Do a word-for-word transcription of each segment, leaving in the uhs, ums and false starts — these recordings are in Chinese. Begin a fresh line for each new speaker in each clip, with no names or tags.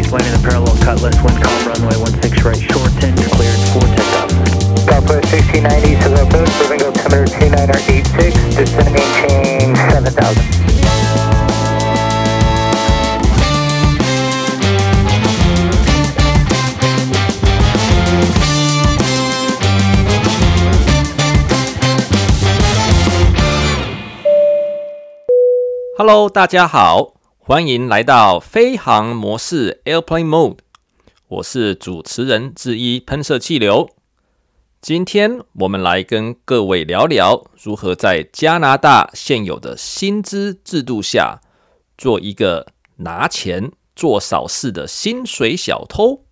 landing the parallel cutlass, wind calm, runway one six right, shorten, you're cleared for takeoff.
Southwest sixteen ninety, to the approach, moving altimeter two nine eight six, descend maintain seven thousand.
Hello， 大家好，歡迎來到飛航模式 Airplane Mode， 我是主持人之一噴射氣流。今天我們來跟各位聊聊如何在加拿大現有的薪資制度下，做一個拿錢做少事的薪水小偷。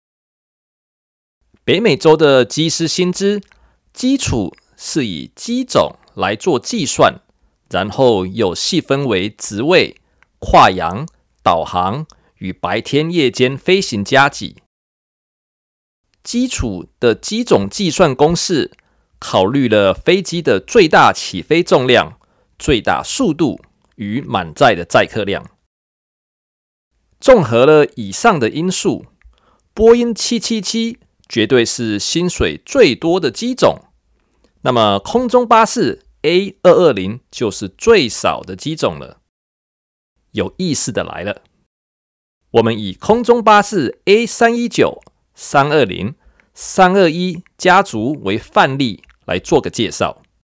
北美洲的機師薪資基礎是以機種來做計算，然後又細分為職位、跨洋、導航與白天夜間飛行加給。基礎的機種計算公式考慮了飛機的最大起飛重量、最大速度與滿載的載客量。綜合了以上的因素，波音七七七絕對是薪水最多的機種。那麼空中巴士 A 二二零 就是最少的機種了。有意思的來了，我們以空中巴士 A 三一九、三二零、三二一家族為範例來做個介紹。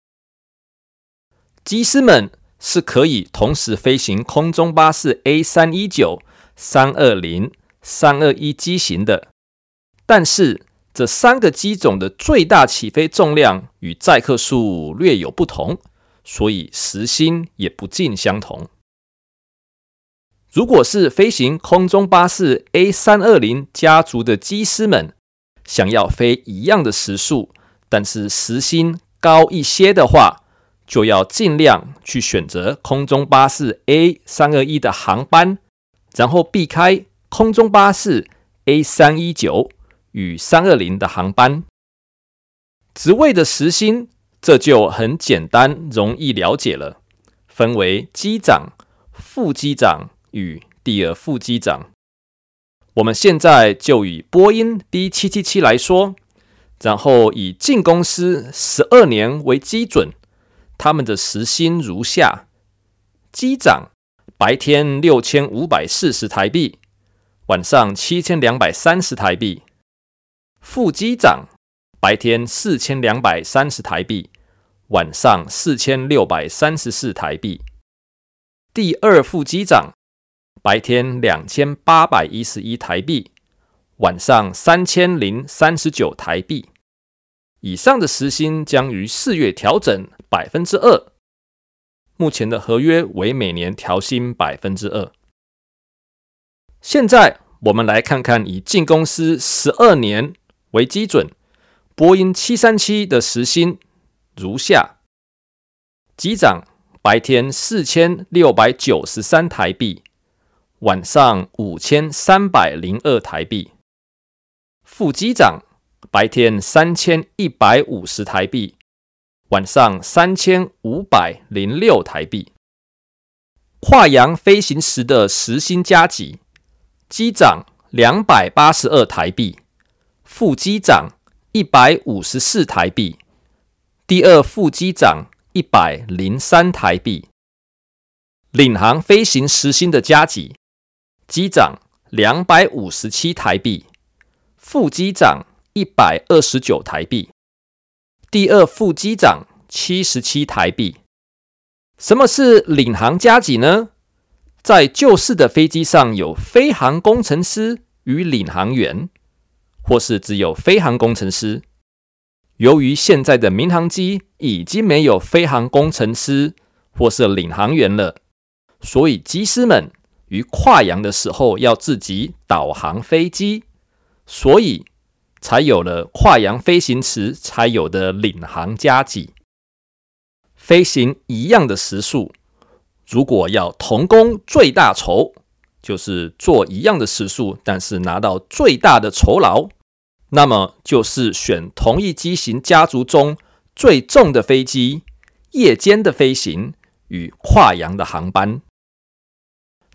機師們是可以同時飛行空中巴士 A 三一九、三二零、三二一機型的，但是這三個機種的最大起飛重量與載客數略有不同，所以時薪也不盡相同。如果是飛行空中巴士 A 三二零家族的機師們，想要飛一樣的時數，但是時薪高一些的話，就要盡量去選擇空中巴士 A 三二一的航班，然後避開空中巴士 A 三一九與三二零的航班。職位的時薪這就很簡單容易了解了，分為機長、副機長與第二副機長。我們現在就以波音 B 七七七 來說，然後以進公司十二年為基準，他們的時薪如下：機長白天六千五百四十台幣，晚上七千兩百三十台幣；副機長白天四千兩百三十台幣，晚上四千六百三十四台幣；第二副機長白天兩千八百一十一台幣，晚上三千零三十九台幣。以上的時薪將於四月調整百分之二，目前的合約為每年調薪百分之二。現在我們來看看以進公司十二年為基準，波音七三七的時薪如下：機長白天四千六百九十三台幣，晚上五千三百零二台幣；副機長白天三千一百五十台幣，晚上三千五百零六台幣。跨洋飛行時的時薪加給：機長兩百八十二台幣，副機長一百五十四台幣，第二副機長一百零三台幣。領航飛行時薪的加給：機長兩百五十七台幣，副機長一百二十九台幣，第二副機長七十七台幣。什麼是領航加給呢？在舊式的飛機上有飛航工程師與領航員，或是只有飛航工程師。由於現在的民航機已經沒有飛航工程師或是領航員了，所以機師們於跨洋的時候要自己導航飛機，所以才有了跨洋飛行時才有的領航加給。飛行一樣的時數，如果要同工最大酬，就是做一樣的時數，但是拿到最大的酬勞，那麼就是選同一機型家族中最重的飛機，夜間的飛行與跨洋的航班。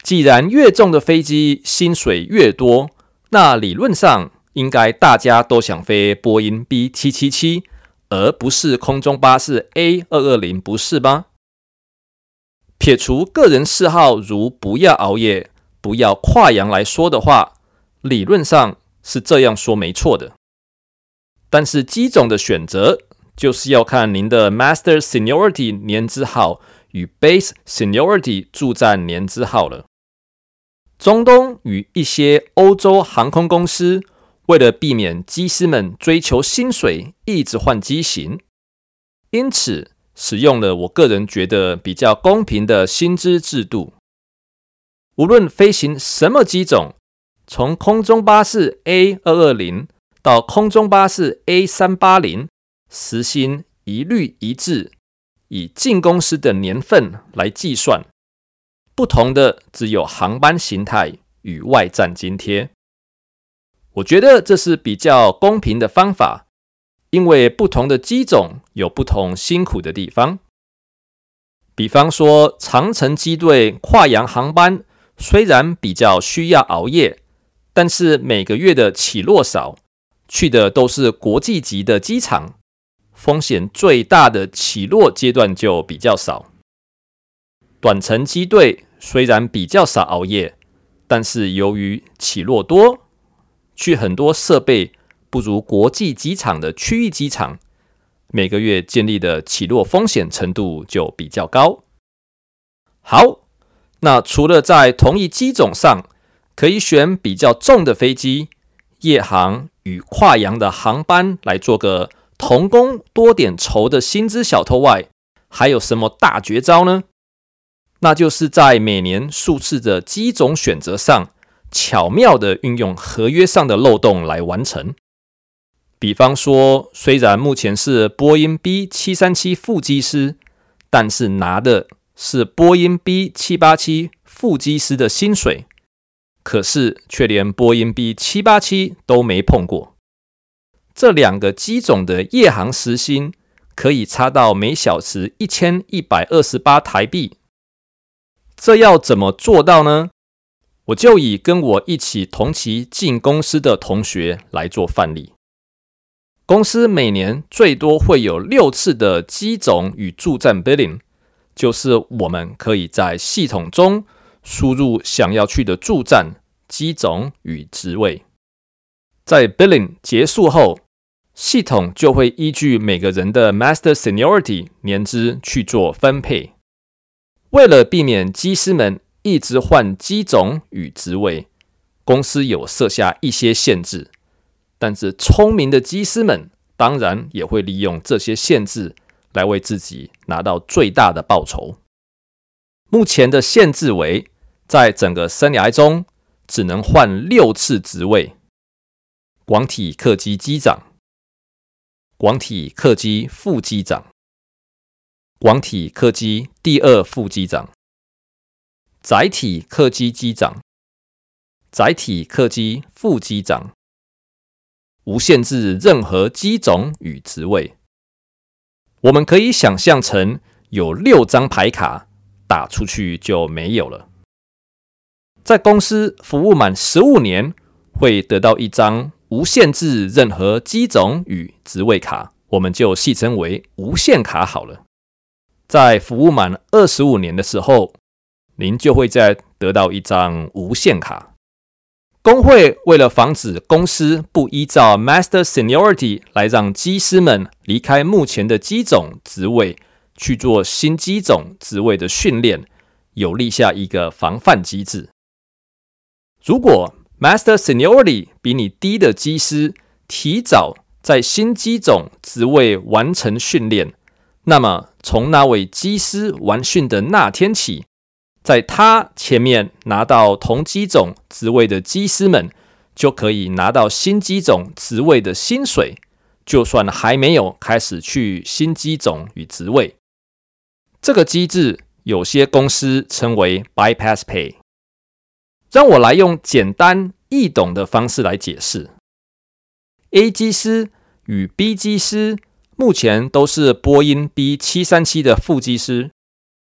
既然越重的飛機薪水越多，那理論上應該大家都想飛波音 B 七七七，而不是空中巴士 A 二二零，不是嗎？撇除個人嗜好如不要熬夜、不要跨洋來說的話，理論上是這樣說沒錯的。但是機種的選擇就是要看您的 Master Seniority 年資號與 Base Seniority 駐站年資號了。中東與一些歐洲航空公司為了避免機師們追求薪水一直換機型，因此使用了我個人覺得比較公平的薪資制度。無論飛行什麼機種，從空中巴士 A 二二零到空中巴士 A 三八零，時薪一律一致，以進公司的年份來計算。不同的只有航班形態與外站津貼。我覺得這是比較公平的方法，因為不同的機種有不同辛苦的地方。比方說，長程機隊跨洋航班雖然比較需要熬夜，但是每個月的起落少，去的都是國際級的機場，風險最大的起落階段就比較少。短程機隊雖然比較少熬夜，但是由於起落多，去很多設備不如國際機場的區域機場，每個月建立的起落風險程度就比較高。好，那除了在同一機種上可以選比較重的飛機，夜航與跨洋的航班來做個同工多點酬的薪資小偷外，還有什麼大絕招呢？那就是在每年數次的機種選擇上，巧妙地運用合約上的漏洞來完成。比方說，雖然目前是波音 B 七三七副機師，但是拿的是波音 B 七八七副機師的薪水，可是卻連波音 B 七八七都沒碰過。這兩個機種的夜航時薪可以差到每小時一千一百二十八台幣。這要怎麼做到呢？我就以跟我一起同期進公司的同學來做範例。公司每年最多會有六次的機種與駐站 billing， 就是我們可以在系統中輸入想要去的駐站、機種與職位。在 billing 結束後，系統就會依據每個人的 Master Seniority 年資去做分配。為了避免機師們一直換機種與職位，公司有設下一些限制，但是聰明的機師們當然也會利用這些限制來為自己拿到最大的報酬。目前的限制為，在整個生涯中只能換六次職位：廣體客機機長、廣體客機副機長、廣體客機第二副機長、載體客機機長、載體客機副機長，無限制任何機種與職位。我們可以想象成有六張牌卡，打出去就沒有了。在公司服務滿十五年，會得到一張無限制任何機種與職位卡，我們就戲稱為無限卡好了。在服務滿二十五年的時候，您就會再得到一張無限卡。工會為了防止公司不依照 Master Seniority 來讓機師們離開目前的機種職位去做新機種職位的訓練，有立下一個防範機制。如果 Master Seniority 比你低的機師提早在新機種職位完成訓練，那麼從那位機師完訓的那天起，在他前面拿到同機種職位的機師們就可以拿到新機種職位的薪水，就算還沒有開始去新機種與職位。這個機制有些公司稱為 Bypass Pay。讓我來用簡單易懂的方式來解釋。A 機師與 B 機師目前都是波音 B 七三七的副機師。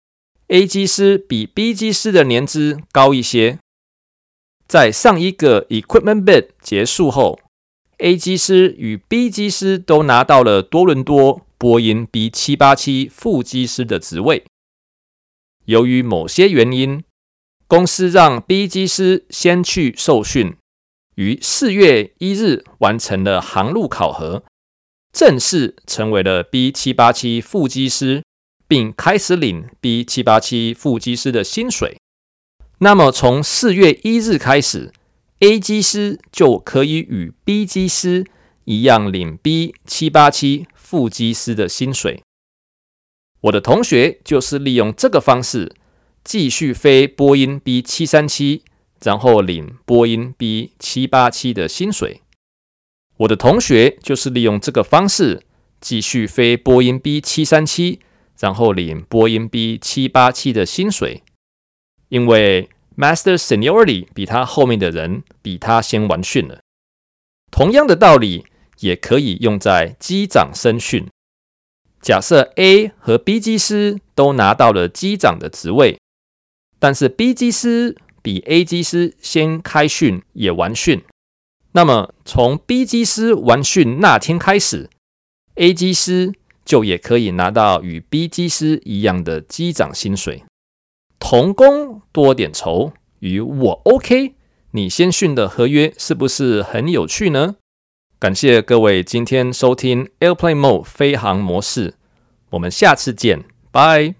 A 機師比 B 機師的年資高一些。在上一個 equipment bid 結束後， A 機師與 B 機師都拿到了多倫多波音 B 七八七 副機師的職位。由於某些原因，公司讓 B 機師先去受訓，於四月一日完成了航路考核，正式成為了 B 七八七 副機師，並開始領 B 七八七 副機師的薪水。那麼從四月一日開始， A 機師就可以與 B 機師一樣領 B 七八七 副機師的薪水。我的同學就是利用這個方式繼續飛波音 B 七三七，然後領波音 B 七八七的薪水。我的同學就是利用這個方式繼續飛波音 B 七三七，然後領波音 B 七八七的薪水。因為 Master Seniority 比他後面的人比他先完訓了。同樣的道理也可以用在機長升訓。假設 A 和 B 機師都拿到了機長的職位，但是 B 機師比 A 機師先開訓也完訓，那麼從 B 機師完訓那天開始， A 機師就也可以拿到與 B 機師一樣的機長薪水。同工多點酬，與我 OK， 你先訓的合約是不是很有趣呢？感謝各位今天收聽 Airplane Mode 飛航模式，我們下次見，拜。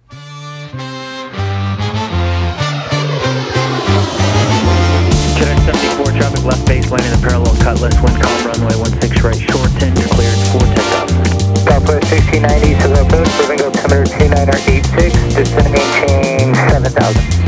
seventy-four traffic left base landing the parallel cutlass wind calm runway one six right shorten cleared for takeoff.
Southwest sixteen ninety to the approach moving altimeter two nine eight six descending change seven thousand.